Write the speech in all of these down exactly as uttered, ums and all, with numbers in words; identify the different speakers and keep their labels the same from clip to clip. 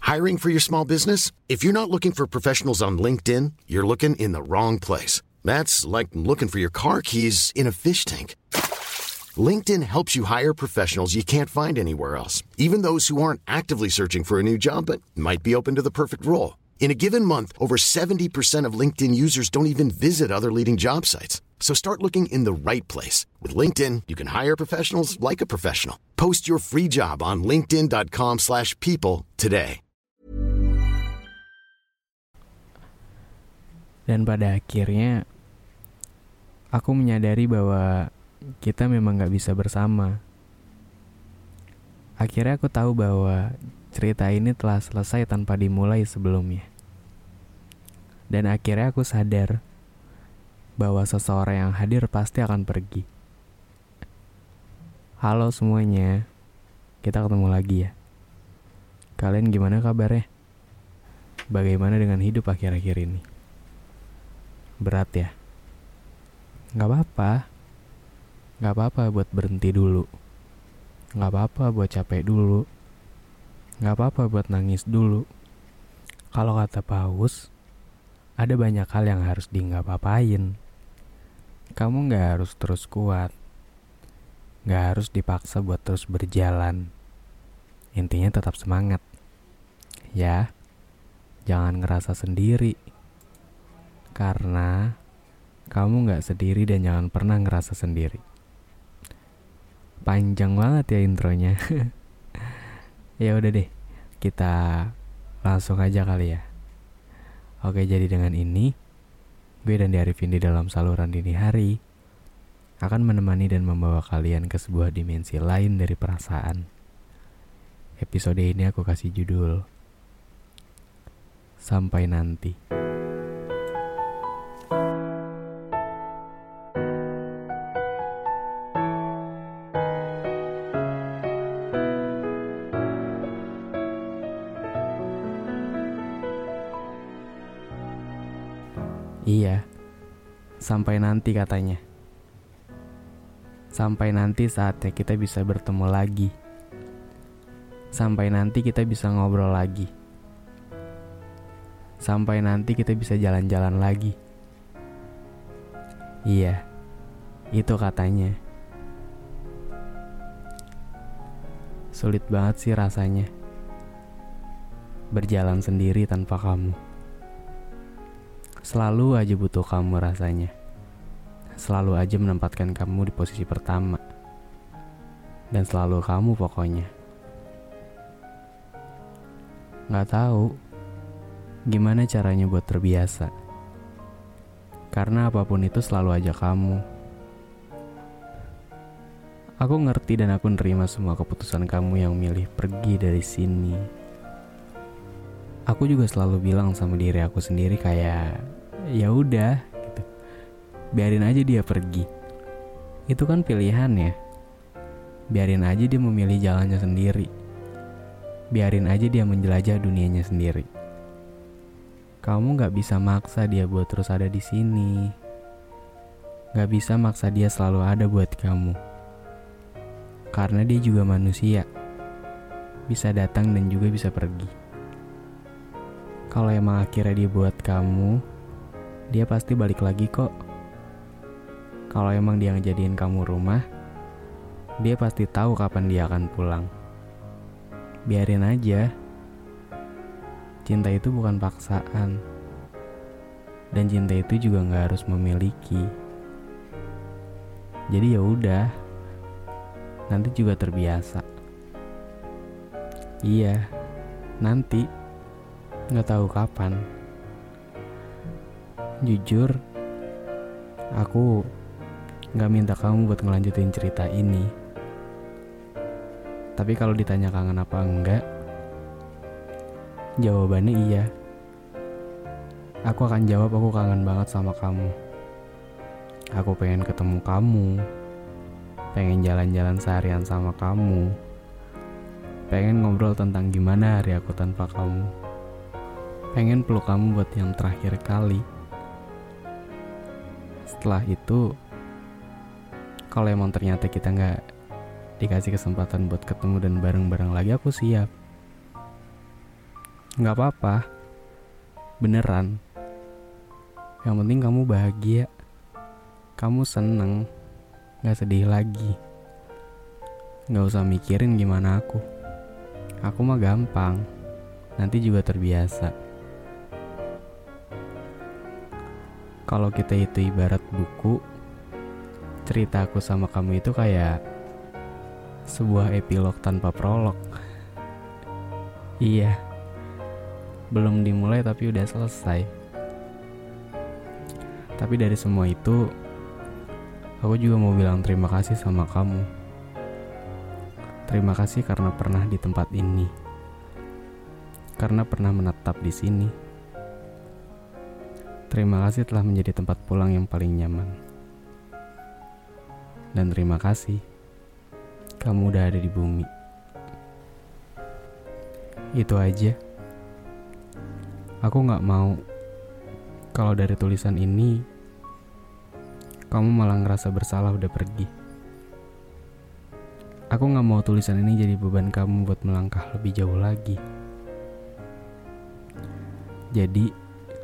Speaker 1: Hiring for your small business? If you're not looking for professionals on LinkedIn, you're looking in the wrong place. That's like looking for your car keys in a fish tank. LinkedIn helps you hire professionals you can't find anywhere else, even those who aren't actively searching for a new job but might be open to the perfect role. In a given month, over seventy percent of LinkedIn users don't even visit other leading job sites. So start looking in the right place. With LinkedIn, you can hire professionals like a professional. Post your free job on linkedin.com slash people today.
Speaker 2: Dan pada akhirnya, aku menyadari bahwa kita memang gak bisa bersama. Akhirnya aku tahu bahwa cerita ini telah selesai tanpa dimulai sebelumnya. Dan akhirnya aku sadar bahwa seseorang yang hadir pasti akan pergi. Halo semuanya, kita ketemu lagi ya. Kalian gimana kabarnya? Bagaimana dengan hidup akhir-akhir ini? Berat ya? Gak apa-apa. Gak apa-apa buat berhenti dulu. Gak apa-apa buat capek dulu. Gak apa-apa buat nangis dulu. Kalau kata Paus, ada banyak hal yang harus di gak apa-apain. Kamu gak harus terus kuat. Gak harus dipaksa buat terus berjalan. Intinya tetap semangat. Ya, jangan ngerasa sendiri. Karena kamu gak sendiri dan jangan pernah ngerasa sendiri. Panjang banget ya intronya. Ya udah deh, kita langsung aja kali ya. Oke, jadi dengan ini gue dan Arifin di dalam saluran dini hari akan menemani dan membawa kalian ke sebuah dimensi lain dari perasaan. Episode ini aku kasih judul Sampai Nanti. Iya, sampai nanti katanya. Sampai nanti saatnya kita bisa bertemu lagi. Sampai nanti kita bisa ngobrol lagi. Sampai nanti kita bisa jalan-jalan lagi. Iya, itu katanya. Sulit banget sih rasanya berjalan sendiri tanpa kamu. Selalu aja butuh kamu rasanya. Selalu aja menempatkan kamu di posisi pertama. Dan selalu kamu pokoknya. Gak tahu gimana caranya buat terbiasa. Karena apapun itu selalu aja kamu. Aku ngerti dan aku nerima semua keputusan kamu yang milih pergi dari sini. Aku juga selalu bilang sama diri aku sendiri kayak, ya udah, gitu. Biarin aja dia pergi. Itu kan pilihan ya. Biarin aja dia memilih jalannya sendiri. Biarin aja dia menjelajah dunianya sendiri. Kamu gak bisa maksa dia buat terus ada di sini. Gak bisa maksa dia selalu ada buat kamu. Karena dia juga manusia. Bisa datang dan juga bisa pergi. Kalau emang akhirnya dia buat kamu, dia pasti balik lagi kok. Kalau emang dia ngejadiin kamu rumah, dia pasti tahu kapan dia akan pulang. Biarin aja. Cinta itu bukan paksaan. Dan cinta itu juga gak harus memiliki. Jadi ya udah, nanti juga terbiasa. Iya, nanti. Gak tahu kapan. Jujur, aku gak minta kamu buat ngelanjutin cerita ini. Tapi kalau ditanya kangen apa enggak, jawabannya iya. Aku akan jawab aku kangen banget sama kamu. Aku pengen ketemu kamu. Pengen jalan-jalan seharian sama kamu. Pengen ngobrol tentang gimana hari aku tanpa kamu. Pengen peluk kamu buat yang terakhir kali. Setelah itu, kalau emang ternyata kita gak dikasih kesempatan buat ketemu dan bareng-bareng lagi, aku siap. Gak apa-apa, beneran. Yang penting kamu bahagia, kamu seneng, gak sedih lagi. Gak usah mikirin gimana aku. Aku mah gampang, nanti juga terbiasa. Kalau kita itu ibarat buku, cerita aku sama kamu itu kayak sebuah epilog tanpa prolog. Iya, belum dimulai tapi udah selesai. Tapi dari semua itu, aku juga mau bilang terima kasih sama kamu. Terima kasih karena pernah di tempat ini, karena pernah menetap di sini. Terima kasih telah menjadi tempat pulang yang paling nyaman. Dan terima kasih kamu udah ada di bumi. Itu aja. Aku gak mau kalau dari tulisan ini kamu malah ngerasa bersalah udah pergi. Aku gak mau tulisan ini jadi beban kamu buat melangkah lebih jauh lagi. Jadi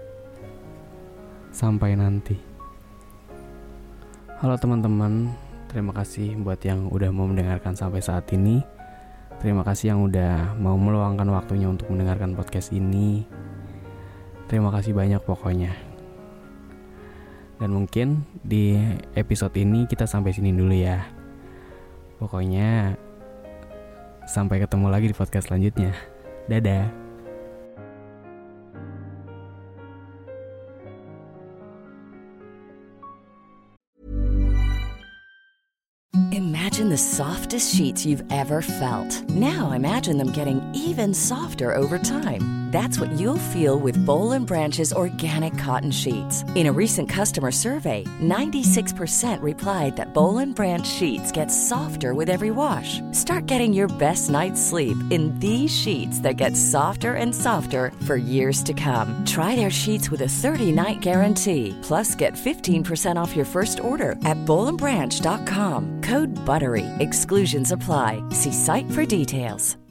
Speaker 2: sampai nanti. Halo teman-teman, terima kasih buat yang udah mau mendengarkan sampai saat ini. Terima kasih yang udah mau meluangkan waktunya untuk mendengarkan podcast ini. Terima kasih banyak pokoknya. Dan mungkin di episode ini kita sampai sini dulu ya. Pokoknya sampai ketemu lagi di podcast selanjutnya. Dadah.
Speaker 3: Imagine the softest sheets you've ever felt. Now imagine them getting even softer over time. That's what you'll feel with Boll and Branch's organic cotton sheets. In a recent customer survey, ninety-six percent replied that Boll and Branch sheets get softer with every wash. Start getting your best night's sleep in these sheets that get softer and softer for years to come. Try their sheets with a thirty-night guarantee. Plus, get fifteen percent off your first order at boll and branch dot com. Code BUTTERY. Exclusions apply. See site for details.